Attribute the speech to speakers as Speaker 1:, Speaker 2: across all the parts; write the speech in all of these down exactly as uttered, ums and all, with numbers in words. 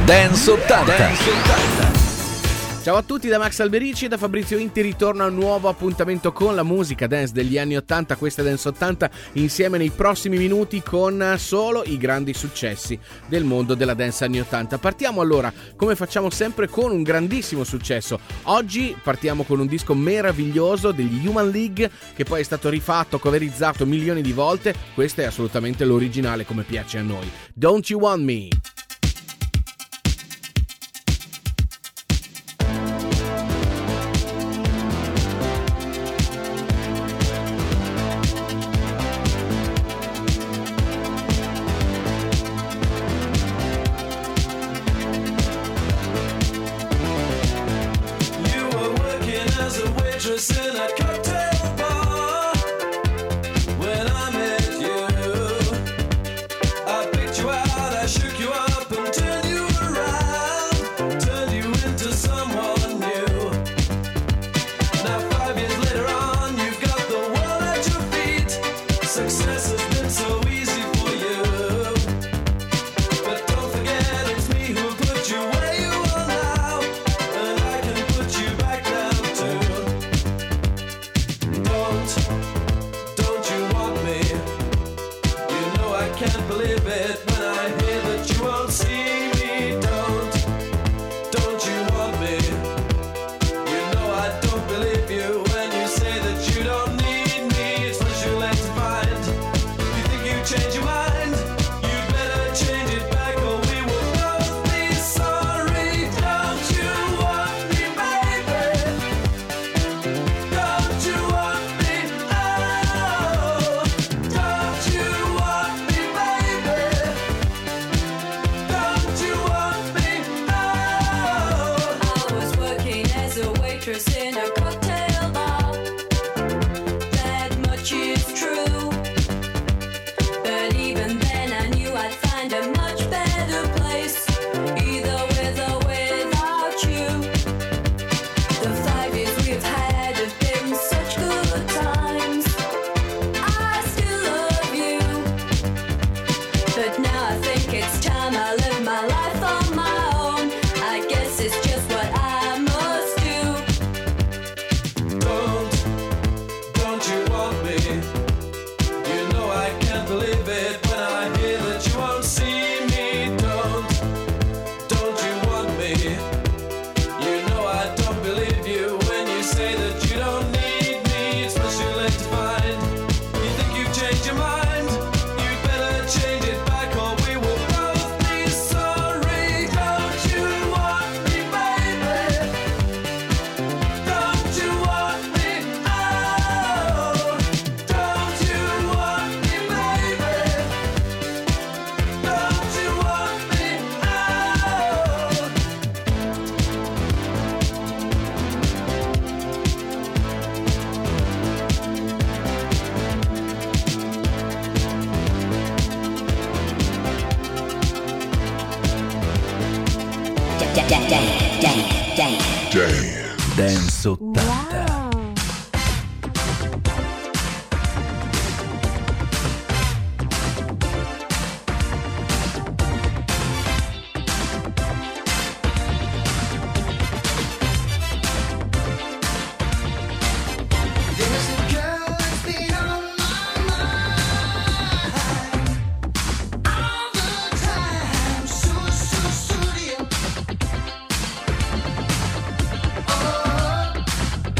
Speaker 1: Dance ottanta. Dance ottanta.
Speaker 2: Ciao a tutti da Max Alberici e da Fabrizio Inti, ritorno a un nuovo appuntamento con la musica dance degli anni ottanta, questa è Dance ottanta, insieme nei prossimi minuti con solo i grandi successi del mondo della dance anni ottanta. Partiamo allora, come facciamo sempre, con un grandissimo successo. Oggi partiamo con un disco meraviglioso degli Human League, che poi è stato rifatto, coverizzato milioni di volte. Questo è assolutamente l'originale, come piace a noi. Don't You Want Me?
Speaker 3: In a cocktail bar, when I met you, I picked you out, I shook you up and turned you around, turned you into someone new. Now five years later on, you've got the world at your feet. Success has been so easy for you, but don't forget it's me who put you where you are now, and I can put you back down too. Don't you want me? You know I can't believe it when I hear that you won't see me. Don't, don't you want me? You know I don't believe you when you say that you don't need me. It's what you like to find. You think you change your mind? You'd better change it back or we will both be sorry. Don't you want me, baby? Don't you want me? Oh, don't you want me, baby? Don't you want me? Oh.
Speaker 4: I was working as a waitress in a cocktail bar. That much is true. But even then I knew I'd find a much better place, either with or without you. The five years we've had have been such good times. I still love you, but now I think it's time I live my life on my own. I guess it's just what I must do.
Speaker 3: Don't, don't you want me? You know I can't believe it when I hear that you won't see me. Don't, don't you want me? You know I don't believe you when you say that you don't need me. It's much too late to find. You think you've changed your mind? You'd better change it back or we will both be sorry. Don't you want me, baby? Don't you want me? Oh, don't you want me, baby? Don't you want me? Oh.
Speaker 1: Dance ottanta.
Speaker 3: There's a girl that's been on my mind all the time, so so so dear. Oh,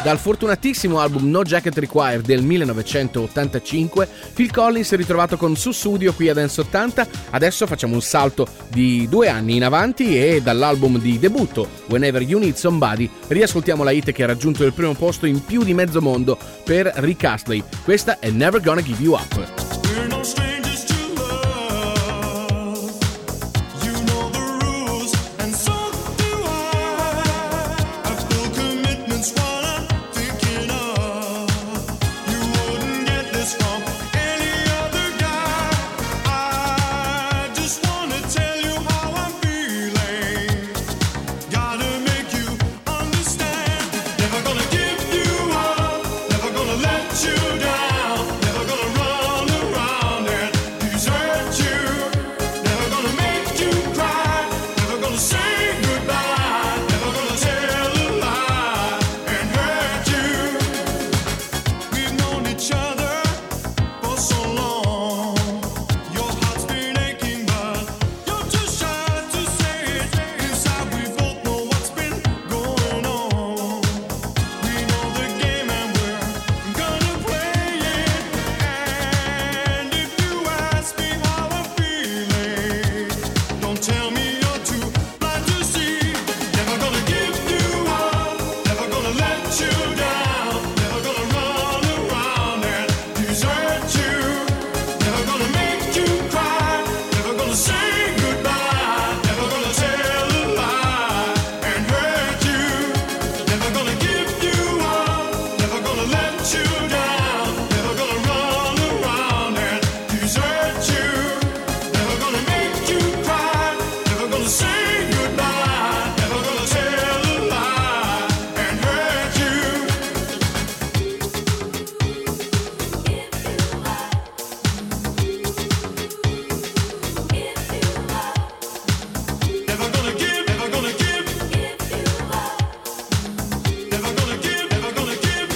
Speaker 2: Dal fortunatissimo album No Jacket Required del millenovecentottantacinque, Phil Collins è ritrovato con Sussudio qui a Dance ottanta. Adesso facciamo un salto di due anni in avanti e dall'album di debutto Whenever You Need Somebody riascoltiamo la hit che ha raggiunto il primo posto in più di mezzo mondo per Rick Astley. Questa è Never Gonna Give You Up.
Speaker 5: We're no strangers to love. You know the rules, and so do I. I've full commitments while I'm thinking of. You wouldn't get this from any other guy. I just wanna tell you how I'm feeling. Gotta make you understand. Never gonna give you up. Never gonna let you down. Never gonna run around and desert you. Never gonna make you cry. Never gonna say goodbye. Never gonna tell a lie and hurt you. We've known each other for so long. Your heart's been aching, but you're too shy to say it. Inside we both know what's been going on. We know the game and we're gonna play it. And if you ask me how I'm feeling, don't tell me you're too blind to see. Never gonna give you up. Never gonna let you down. Never gonna run around and desert you. Never gonna make you cry. Never gonna say goodbye. Never gonna tell a lie and hurt you. Never gonna give you up. Never gonna let you down. Never gonna run around and desert you. Never gonna make you cry. Never gonna say goodbye. Never gonna tell a lie and hurt you. Never gonna give, never gonna give. Never gonna give, never gonna give.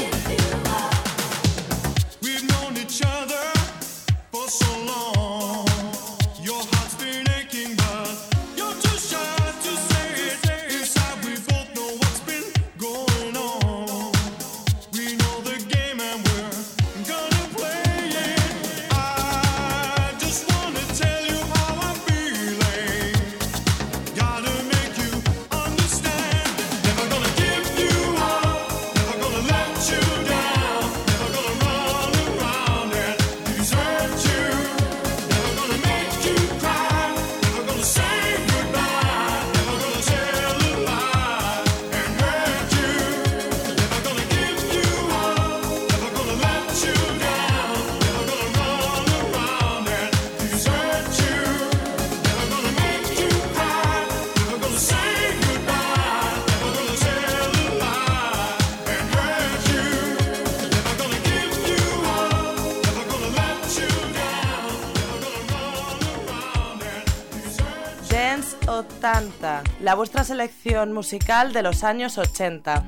Speaker 5: We've known each other for so long. Your heart's been aching, but you're too shy to say it. Inside we both know what's been going on. We know the game and we're gonna play it. I just wanna tell you how I'm feeling. Gotta make you understand. Never gonna give you up. Never gonna let you down. Never gonna run around and desert you. Never gonna make you cry. Never gonna say goodbye. Never gonna tell a lie and hurt you. Never gonna give you up. Never gonna let you down. Never gonna run around and desert you. Never gonna make you cry. Never gonna say goodbye. Never gonna tell a lie and hurt you. Never gonna give you up. Never gonna let you down. Never gonna run around and desert you.
Speaker 6: Dance ottanta, la vuestra selección musical de los años ochenta.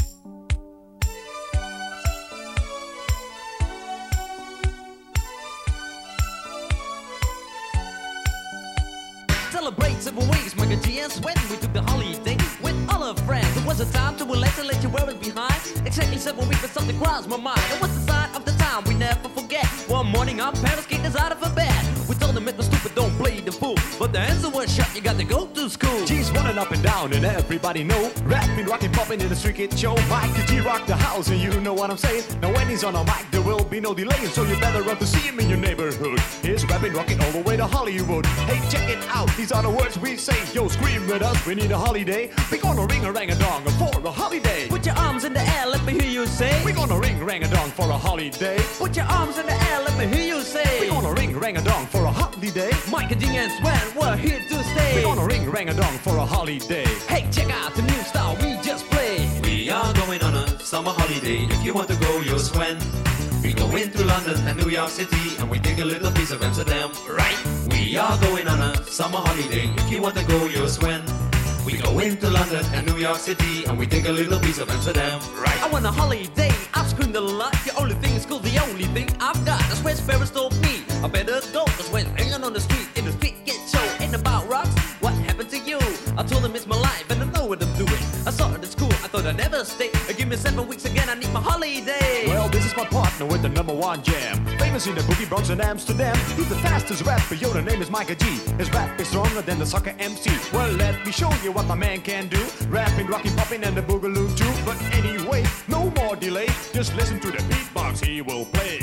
Speaker 7: Celebrate several weeks, Michael G and Sweat. We took the holiday with all our friends. It was a time to relax and let you wear it behind. Exactly seven weeks, but something crossed my mind. It was the sign of the time we never forget. One morning, our parents kicked us out of a bed. We told them it was stupid, don't play the fool. But the answer was shut, you got to go to school.
Speaker 8: G's running up and down and everybody know. Rapping, rocking, popping in the street kid show. Mike G rock the house and you know what I'm saying. Now when he's on a mic there will be no delay. So you better run to see him in your neighborhood. He's rapping, rocking all the way to Hollywood. Hey, check it out, these are the words we say. Yo, scream with us, we need a holiday. We gonna ring a rang a dong for a holiday.
Speaker 7: Put your arms in the air, let me hear you say.
Speaker 8: We gonna ring rang a dong for a holiday.
Speaker 7: Put your arms in the air, let me hear you say.
Speaker 8: We gonna ring rang a dong for a holiday.
Speaker 7: Mike and G and Swan, we're here to stay.
Speaker 8: We gonna ring rang a dong for a holiday.
Speaker 7: Hey, check out the new style we just played.
Speaker 3: We are going on a summer holiday. If you want to go, you'll swim. We go into London and New York City, and we take a little piece of Amsterdam, right? We are going on a summer holiday. If you want to go, you'll swim. We go into London and New York City, and we take a little piece of Amsterdam, right?
Speaker 7: I want a holiday, I've screamed a lot. The only thing is cool, the only thing I've got. That's where Sparrows told me I better go. Cause when hanging on the street, in the street get show. Ain't about rocks, what happened to you? I told him it's my life and I know what I'm doing. I saw it at school, I thought I'd never stay. Give me seven weeks again, I need my holiday.
Speaker 8: Well, this is my partner with the number one jam. Famous in the boogie Bronx and Amsterdam. He's the fastest rapper, yo, the name is Micah G. His rap is stronger than the soccer M C. Well, let me show you what my man can do. Rapping, rocking, popping, and the boogaloo too. But anyway, no more delay. Just listen to the beatbox he will play.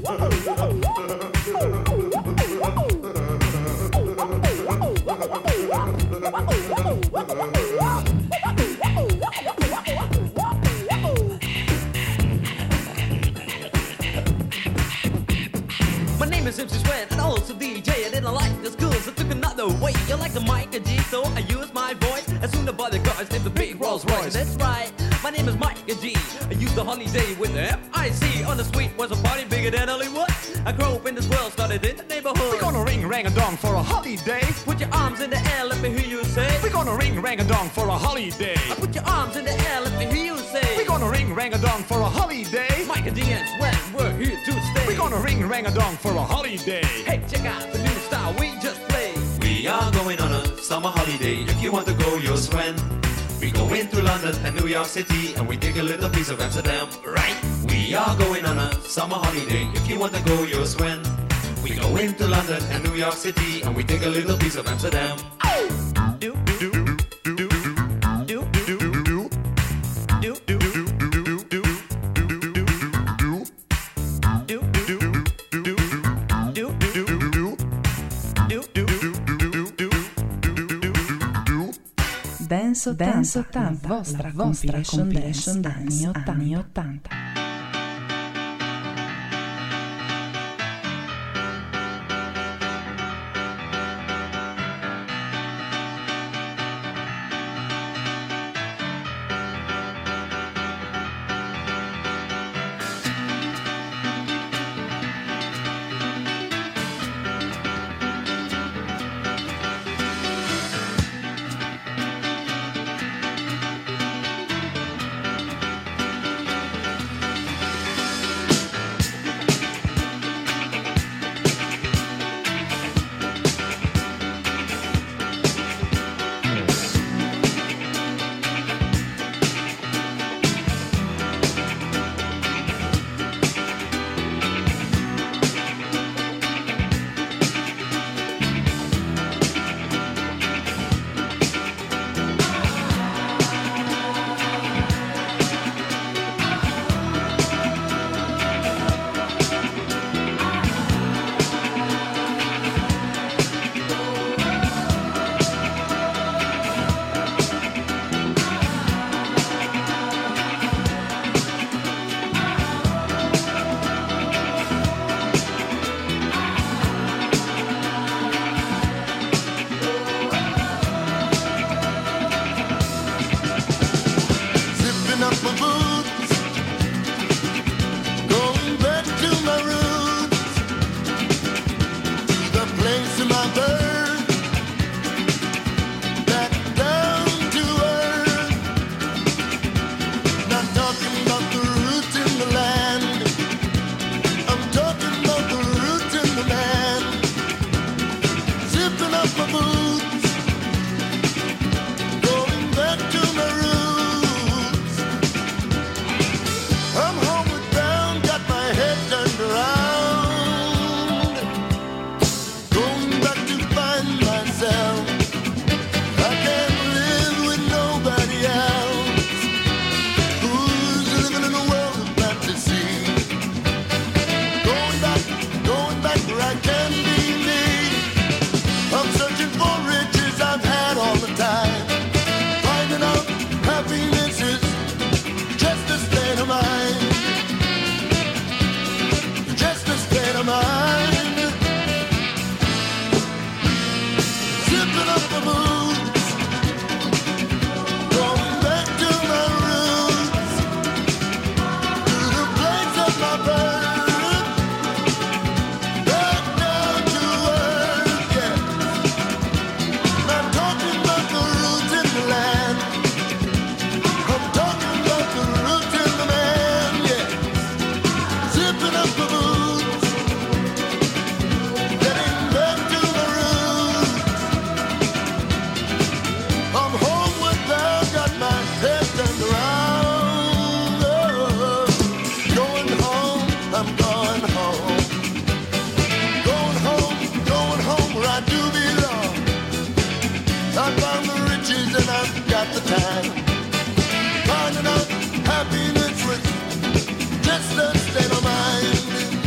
Speaker 7: My name is M C Sweat and also D J. I didn't like the school, so took another way. You like the Micah G, so I use my voice. As soon as the cars named the big Rolls Royce. That's right, my name is Micah G. I used the holiday with the F I C. On the street was a party bigger than Hollywood. I grew up in this world, started in the neighborhood.
Speaker 8: We're gonna ring rang a dong for a holiday.
Speaker 7: Put your arms in the air, let me hear you say.
Speaker 8: We're gonna ring rang a dong for a holiday.
Speaker 7: I put your arms in the air, let me hear you say.
Speaker 8: We're gonna ring rang a dong for a holiday.
Speaker 7: Micah G and Sweat, we're here to stay.
Speaker 8: We're gonna ring rang a dong for a holiday.
Speaker 7: Hey, check out the new style we just played.
Speaker 9: We are going on a summer holiday. If you want to go, you'll swim. We go into London and New York City, and we take a little piece of Amsterdam, right? We are going on a summer holiday. If you want to go, you'll swim. We go into London and New York City, and we take a little piece of Amsterdam.
Speaker 7: Do, do, do, do, do, do, do, do,
Speaker 10: Dance ottanta, vostra vostra compilation dance anni ottanta.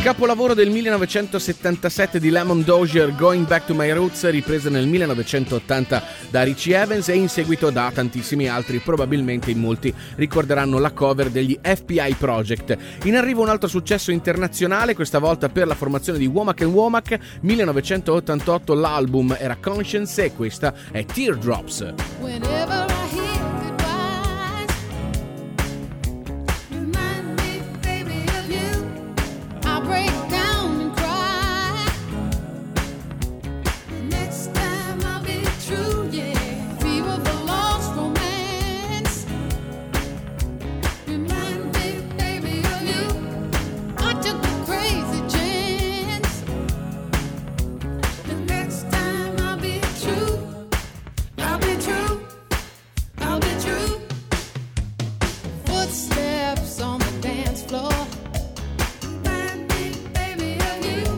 Speaker 2: Capolavoro del millenovecentosettantasette di Lemon Dozier, Going Back to My Roots, ripresa nel millenovecentottanta da Richie Evans e in seguito da tantissimi altri. Probabilmente in molti ricorderanno la cover degli F B I Project. In arrivo un altro successo internazionale, questa volta per la formazione di Womack and Womack. millenovecentottantotto l'album era Conscience e questa è Teardrops.
Speaker 11: Whenever I hear goodbyes, remind me, baby, of you. I break down and cry. Next time I'll be true, yeah. Fever for lost romance. Remind me, baby, of you. I took a crazy chance. The next time I'll be true. I'll be true, I'll be true. Footsteps on the dance floor. Remind me, baby, of you.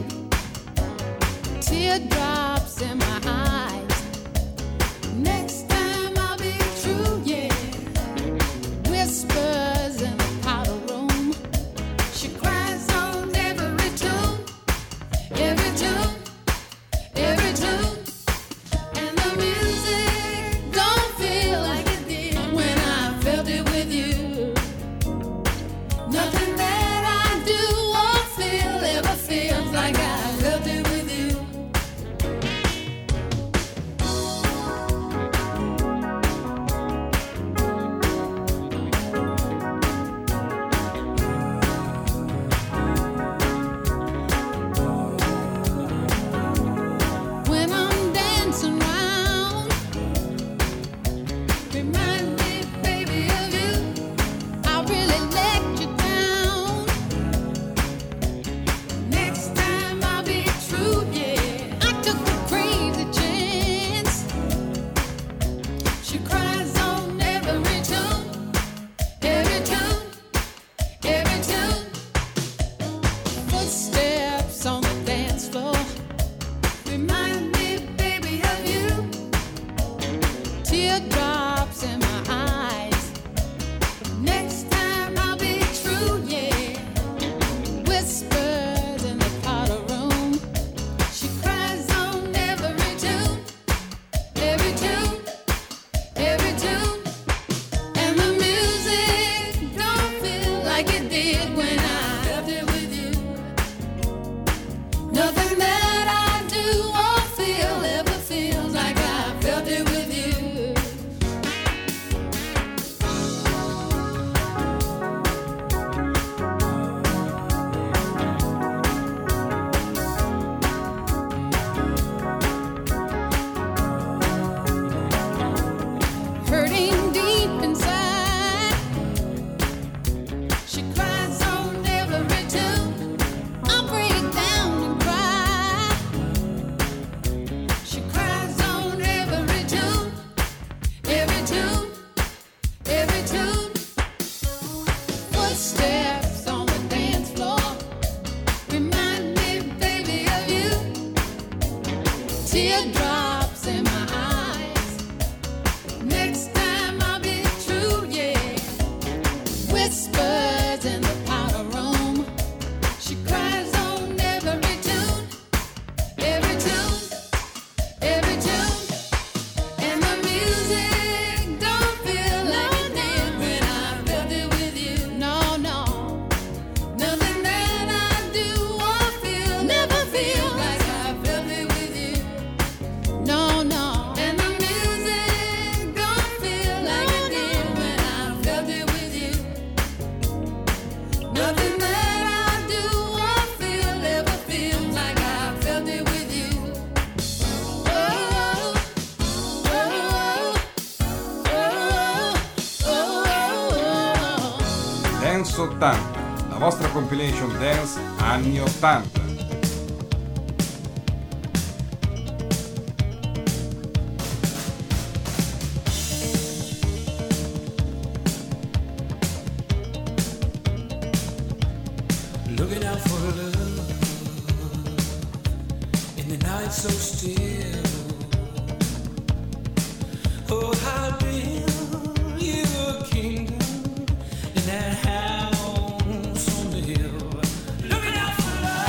Speaker 11: Teardrops in my eyes. Next time I'll be true, yeah. Whispers in the powder room. She cries on every tune, every tune, every tune. And the music don't feel like it did when I felt it with you. Nothing that I do or feel ever feels like I felt it with you. When I'm dancing round, remind me, baby, of you. I really let you down. Next time I'll be true, yeah. I took a crazy chance. She cries on every tune, every tune, every tune. Footsteps on the dance floor. Remind me, baby, of you. Teardrops in my eyes. Next time I'll be true, yeah. Whispers in the powder room. She cries on every tune, every tune, every tune. And the music don't feel like it did when I felt it with you. Nothing that I do or feel ever feels like I felt it with you. Hurting deep inside. She cries on every tune. I break down and cry. She cries on every tune, every tune, every tune. Footsteps on the dance floor. Remind me, baby, of you. Teardrops in my eyes. Next time I'll be true, yeah. Whispers in the powder room. She cries on every tune, every tune, every tune. And the music don't feel like it did when I felt it with you. No, no. Nothing that I do or feel never feel like I felt it with you. No, no. And the music don't feel like it did when I felt it with you. Nothing that I do or feel ever feels like I felt it with you. Oh, oh, oh, oh, oh, oh.
Speaker 12: Dance ottanta, la vostra compilation dance anni ottanta.
Speaker 3: Looking out for love in the night so still. Oh, how build you a kingdom in that house on the hill. Looking out for love.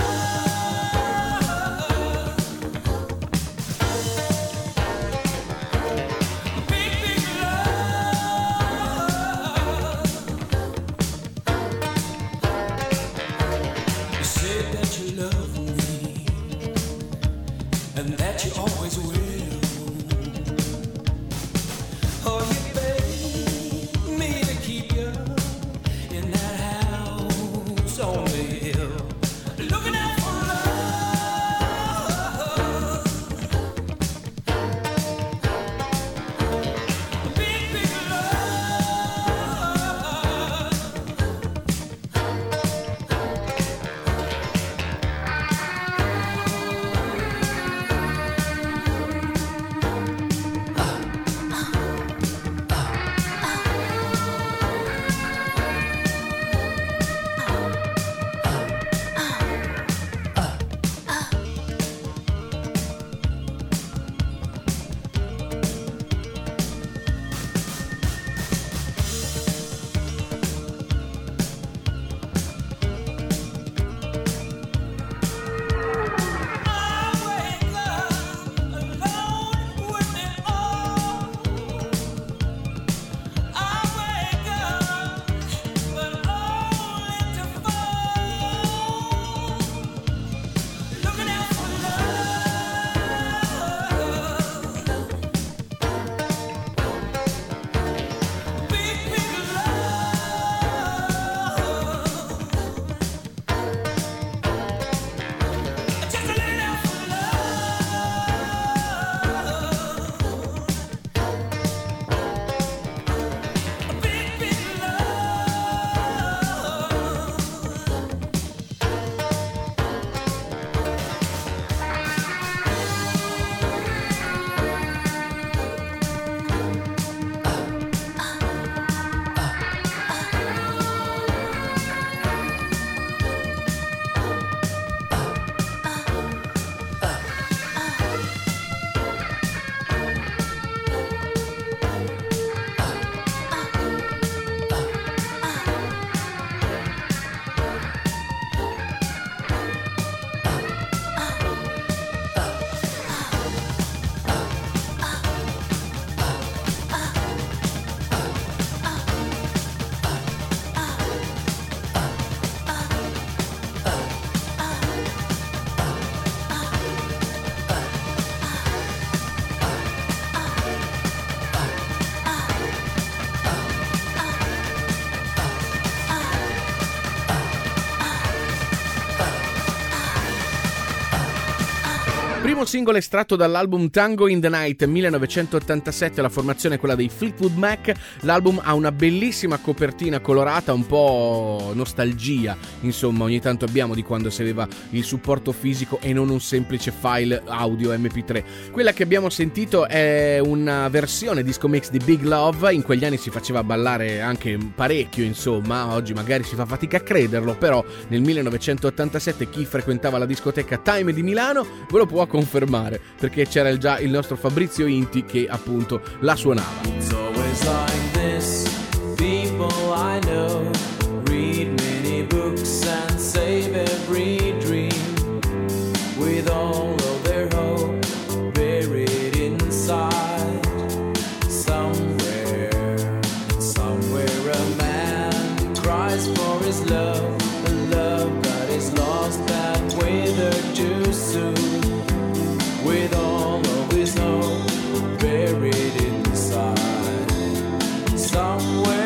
Speaker 2: primo singolo estratto dall'album Tango in the Night millenovecentottantasette, la formazione è quella dei Fleetwood Mac. L'album ha una bellissima copertina colorata, un po' nostalgia, insomma, ogni tanto abbiamo di quando si aveva il supporto fisico e non un semplice file audio emme pi tre. Quella che abbiamo sentito è una versione disco mix di Big Love, in quegli anni si faceva ballare anche parecchio, insomma, oggi magari si fa fatica a crederlo, però nel millenovecentottantasette chi frequentava la discoteca Time di Milano ve lo può confermare, perché c'era già il nostro Fabrizio Inti che appunto la suonava.
Speaker 3: It's always like this. People I know read many books and save every dream with all of their hope buried inside. Somewhere, somewhere a man cries for his love, a love that is lost that withered too soon. With all of his hope buried inside. Somewhere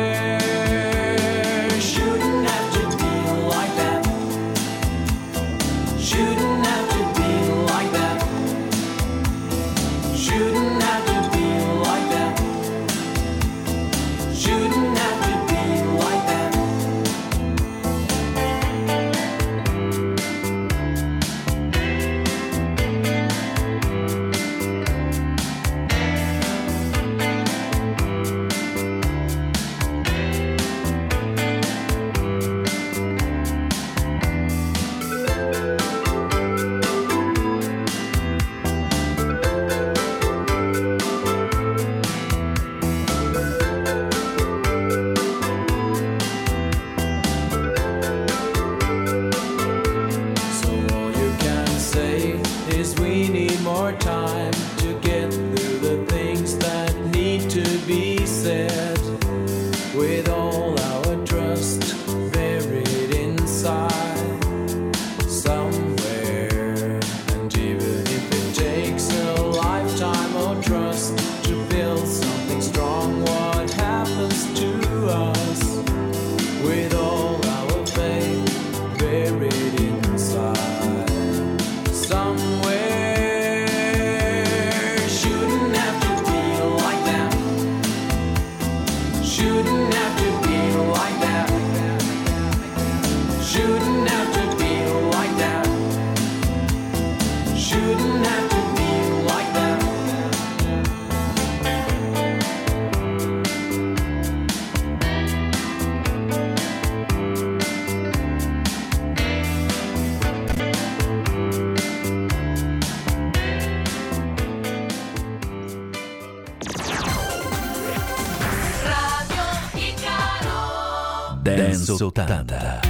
Speaker 3: shouldn't have to be like that. Shouldn't have to be like that. Shouldn't have to be like that. Shouldn't have to be like that. So all you can say is we need more time to get through the things that need to be said. With all our trust buried inside somewhere. And even if it takes a lifetime of trust to build something strong, what happens to us with all our faith buried inside? Somewhere shouldn't have to be like that. Shouldn't have to be like that. Shouldn't have to be like that. Shouldn't have to be like that.
Speaker 1: Dance ottanta.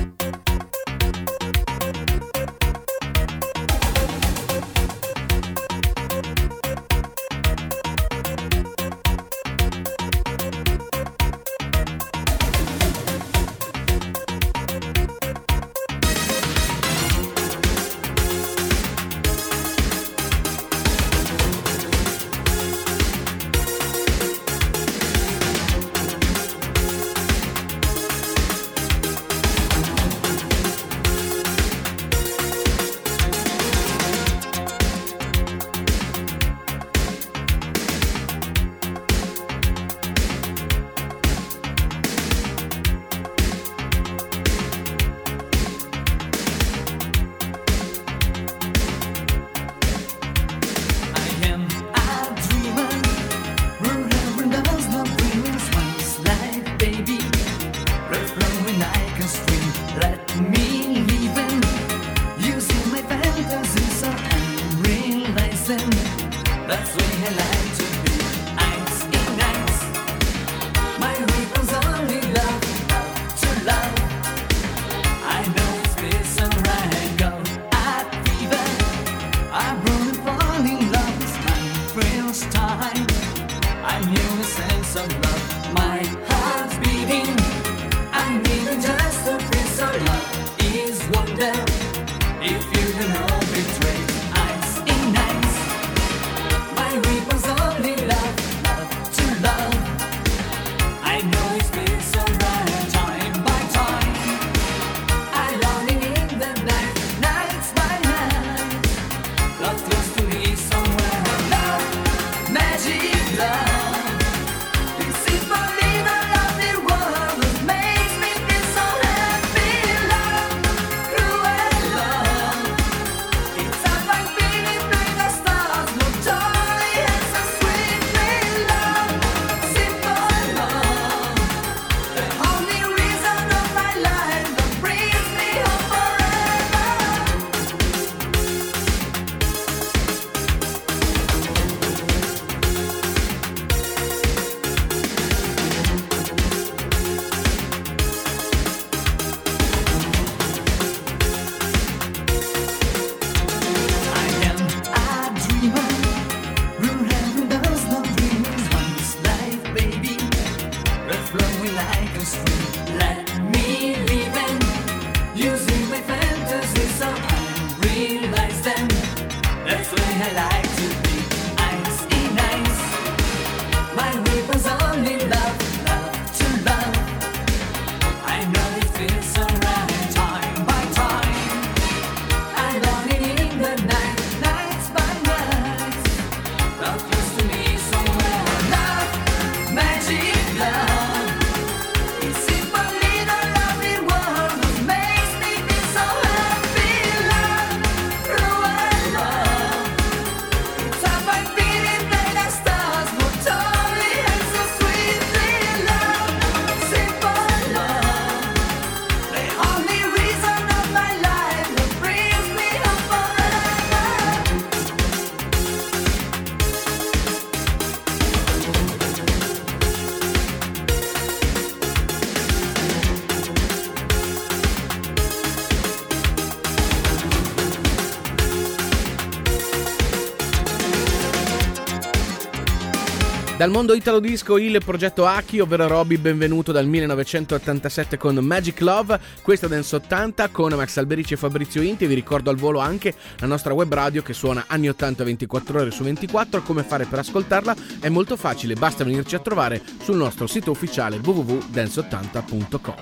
Speaker 13: That's the way I like to be. Nights in nights, my weapon's only love, love to love. I know it's this alright, go at fever. I'm running, falling in love. It's my first time. I knew a sense of love. My heart's beating. I'm even just a piece of love. Is wonder if you can all betray. Nights in nights. My weapon's only love, love to love. I know it's been so right, time by time. I'm longing in the night, nights by night. Love close
Speaker 2: Dal mondo italo disco il progetto Aki, ovvero Robby Benvenuto dal millenovecentottantasette con Magic Love, questa Dance ottanta con Max Alberici e Fabrizio Inti. Vi ricordo al volo anche la nostra web radio che suona anni ottanta ventiquattro ore su ventiquattro. Come fare per ascoltarla? È molto facile, basta venirci a trovare sul nostro sito ufficiale w w w punto dance ottanta punto com.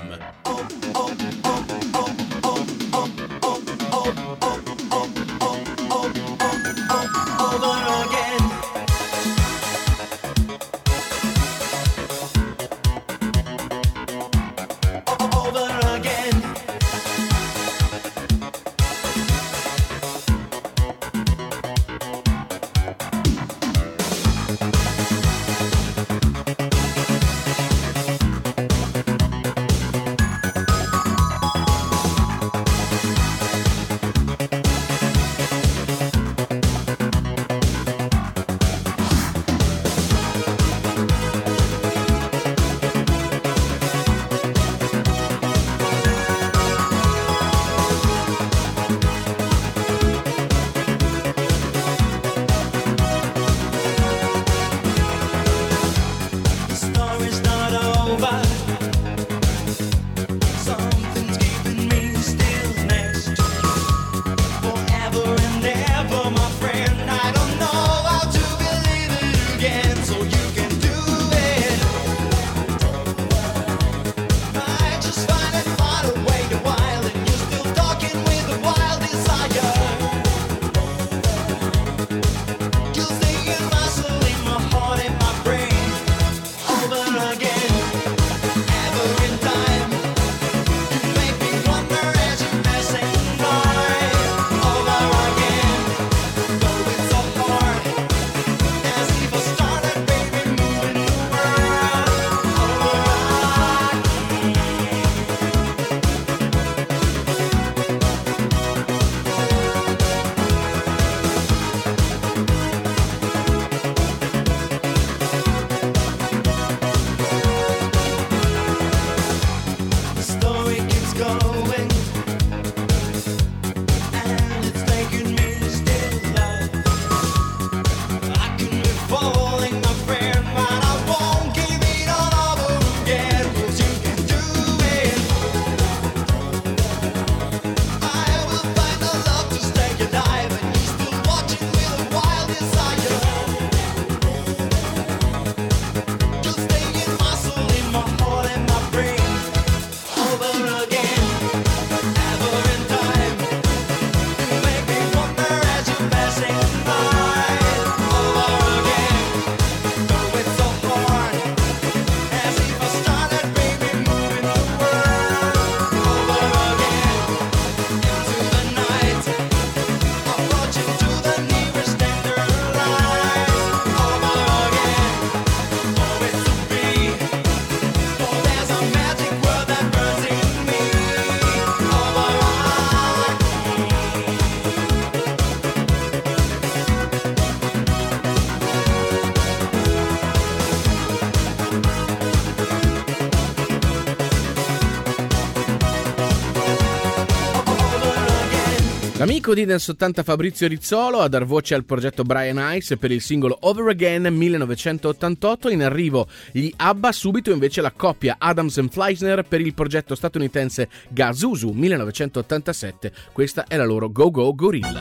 Speaker 2: L'amico di Dance ottanta Fabrizio Rizzolo a dar voce al progetto Brian Ice per il singolo Over Again millenovecentottantotto. In arrivo gli ABBA, subito invece la coppia Adams and Fleisner per il progetto statunitense Gazuzu millenovecentottantasette. Questa è la loro Go Go Gorilla.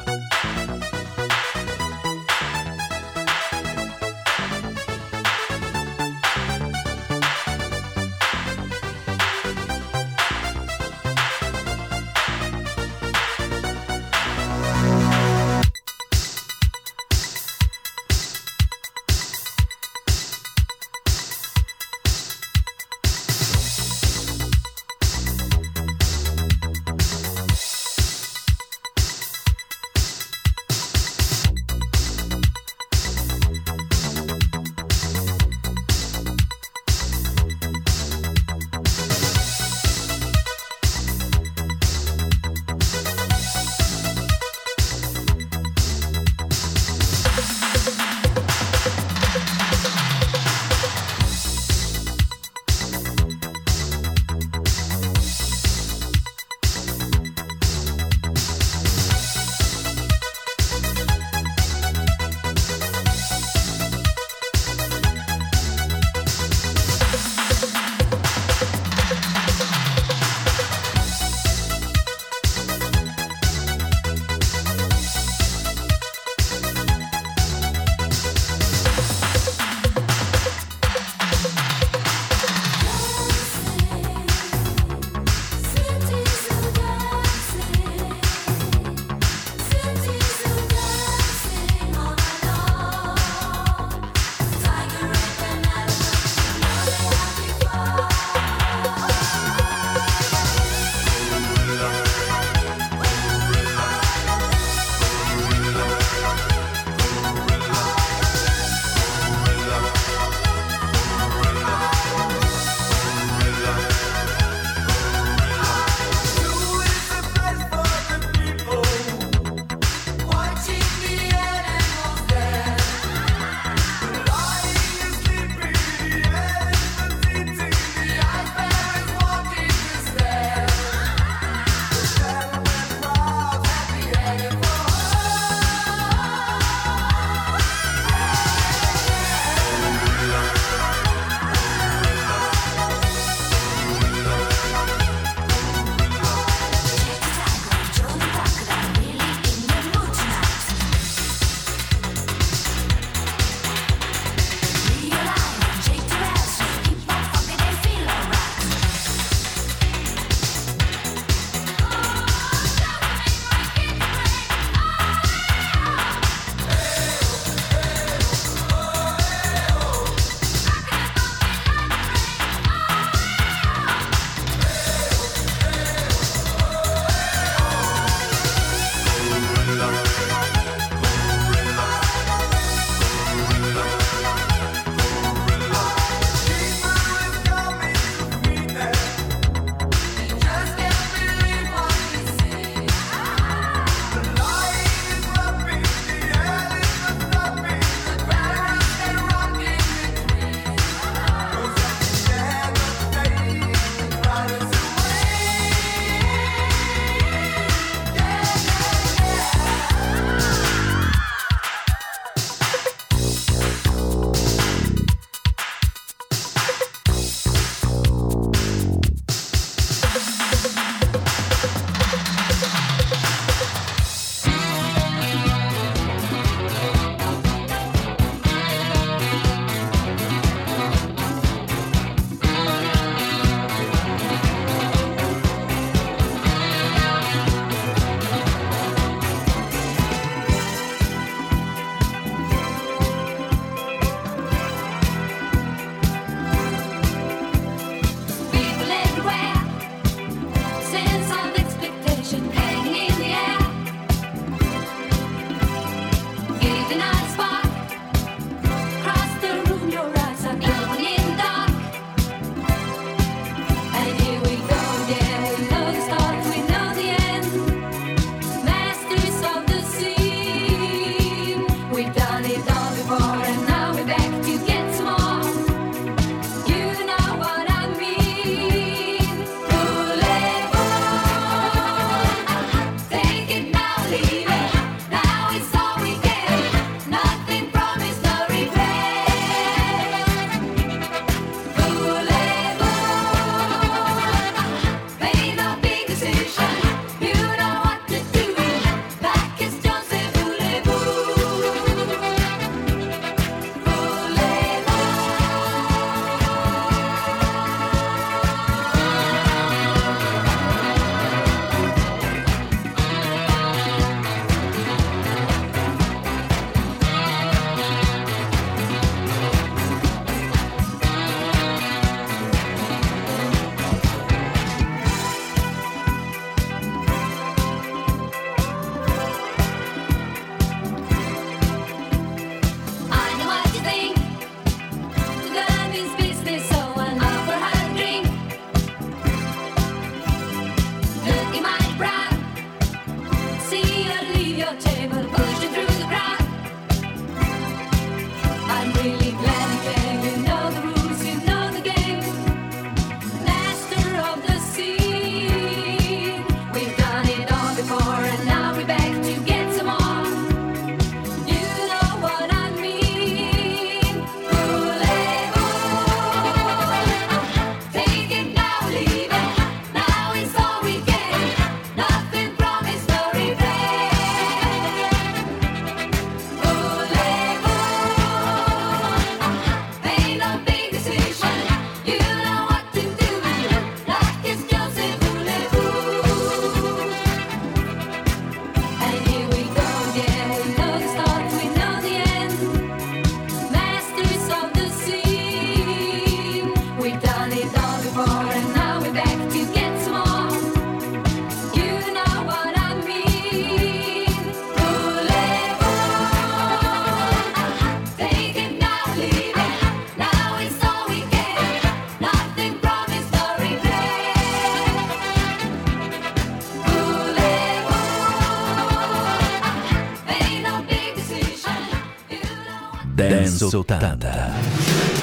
Speaker 1: Dance ottanta.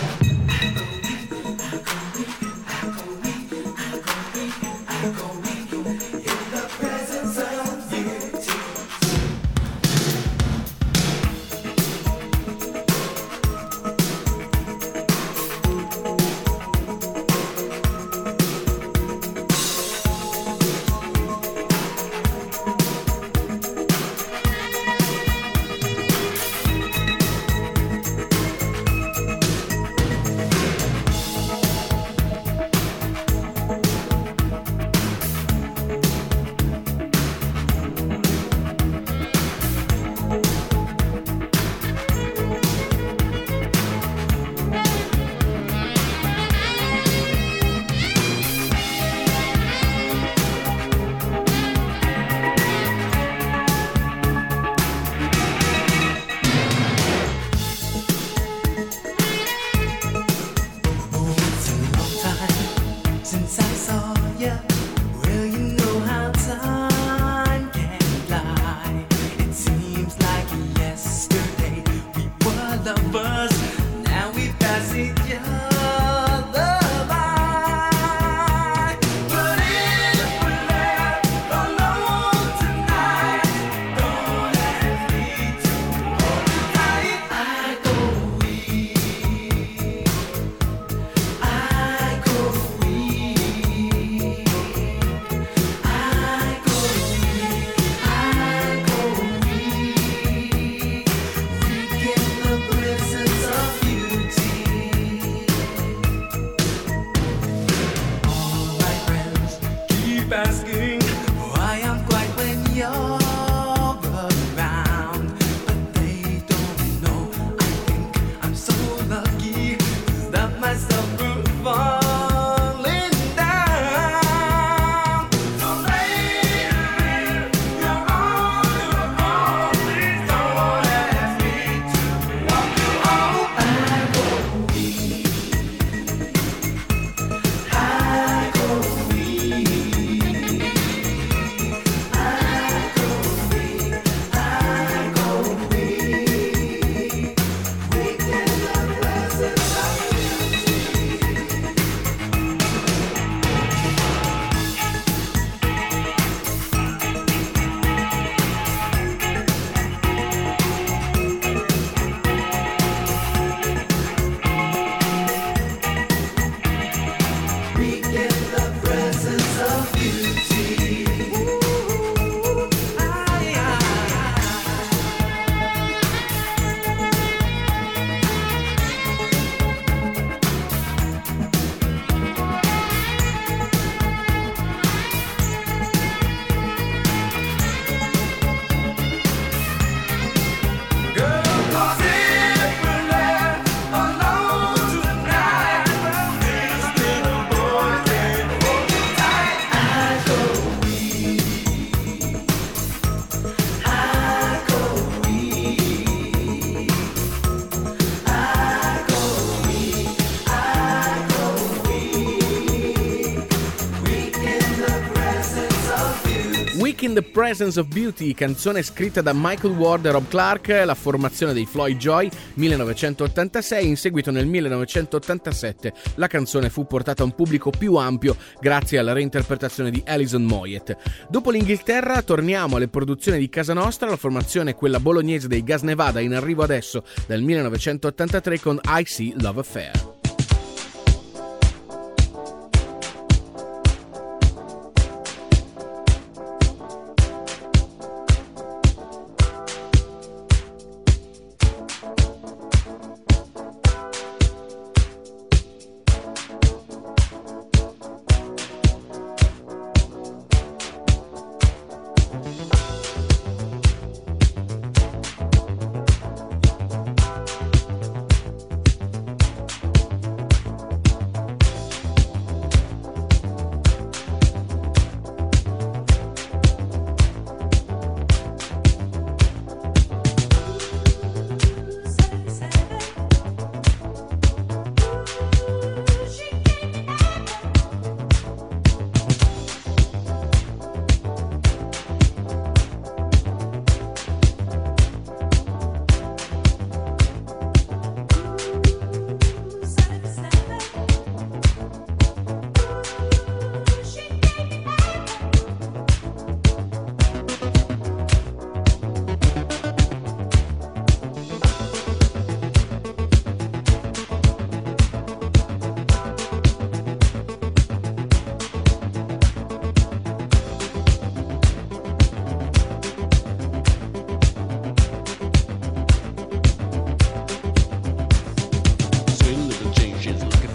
Speaker 2: In the Presence of Beauty, canzone scritta da Michael Ward e Rob Clark, la formazione dei Floyd Joy, millenovecentottantasei. In seguito nel millenovecentottantasette la canzone fu portata a un pubblico più ampio grazie alla reinterpretazione di Alison Moyet. Dopo l'Inghilterra torniamo alle produzioni di casa nostra, la formazione è quella bolognese dei Gas Nevada, in arrivo adesso dal millenovecentottantatré con I See Love Affair.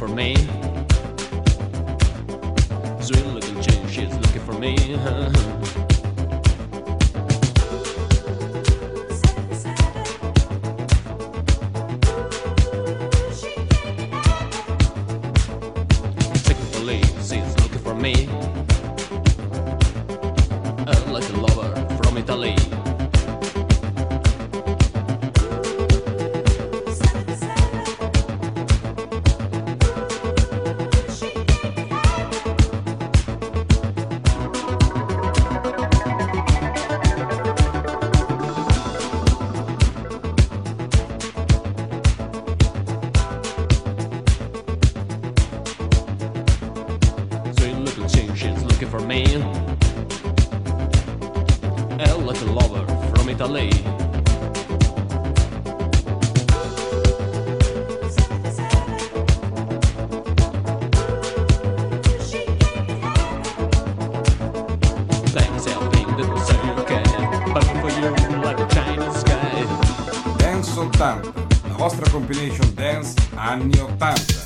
Speaker 7: for me. Sweet little chick, she's looking for me. Secretly, she's looking for me. A little lover from Italy. For me, a little lover from Italy. Things helping the circle, but for you like a Chinese sky.
Speaker 12: Dance ottanta, la vostra compilation dance anni ottanta.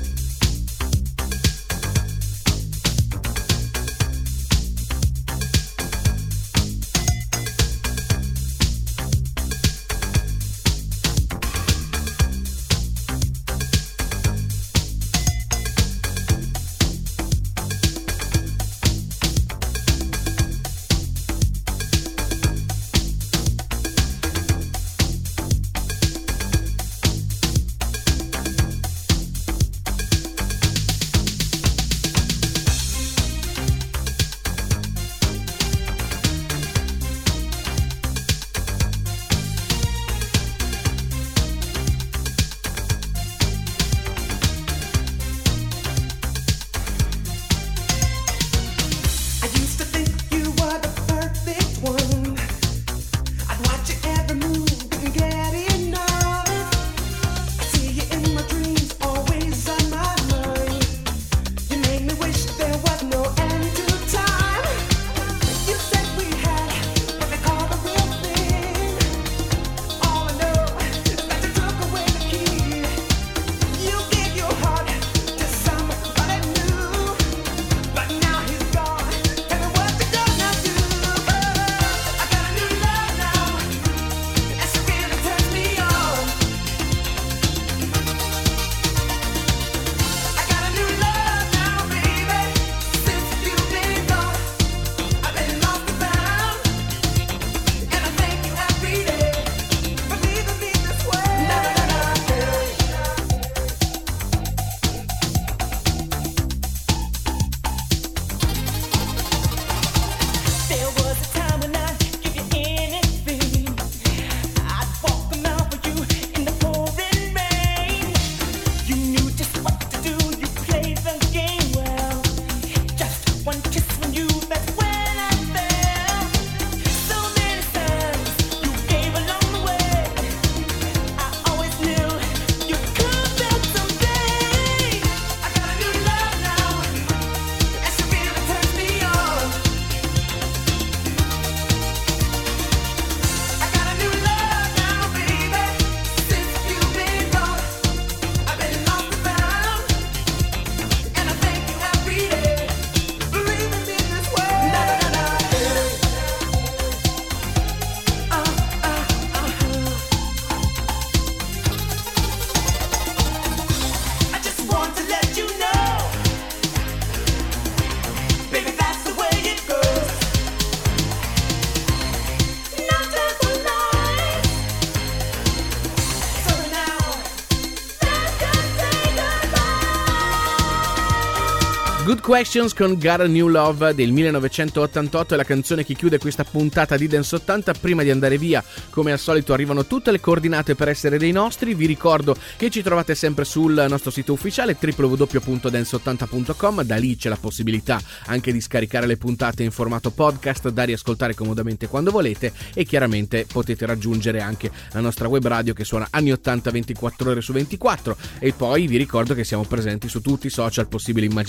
Speaker 2: Good Questions con Got a New Love del millenovecentottantotto è la canzone che chiude questa puntata di Dance ottanta. Prima di andare via, come al solito, arrivano tutte le coordinate per essere dei nostri. Vi ricordo che ci trovate sempre sul nostro sito ufficiale w w w punto dance ottanta punto com. Da lì c'è la possibilità anche di scaricare le puntate in formato podcast da riascoltare comodamente quando volete, e chiaramente potete raggiungere anche la nostra web radio che suona anni ottanta ventiquattro ore su ventiquattro. E poi vi ricordo che siamo presenti su tutti i social possibili e immaginabili,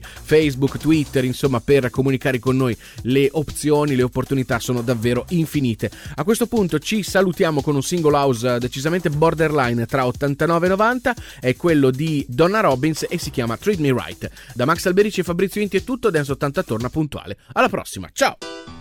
Speaker 2: Facebook, Twitter, insomma, per comunicare con noi. Le opzioni, le opportunità sono davvero infinite. A questo punto ci salutiamo con un single house decisamente borderline tra ottantanove e novanta, è quello di Donna Robbins e si chiama Treat Me Right. Da Max Alberici e Fabrizio Inti è tutto, Dance ottanta torna puntuale. Alla prossima, ciao!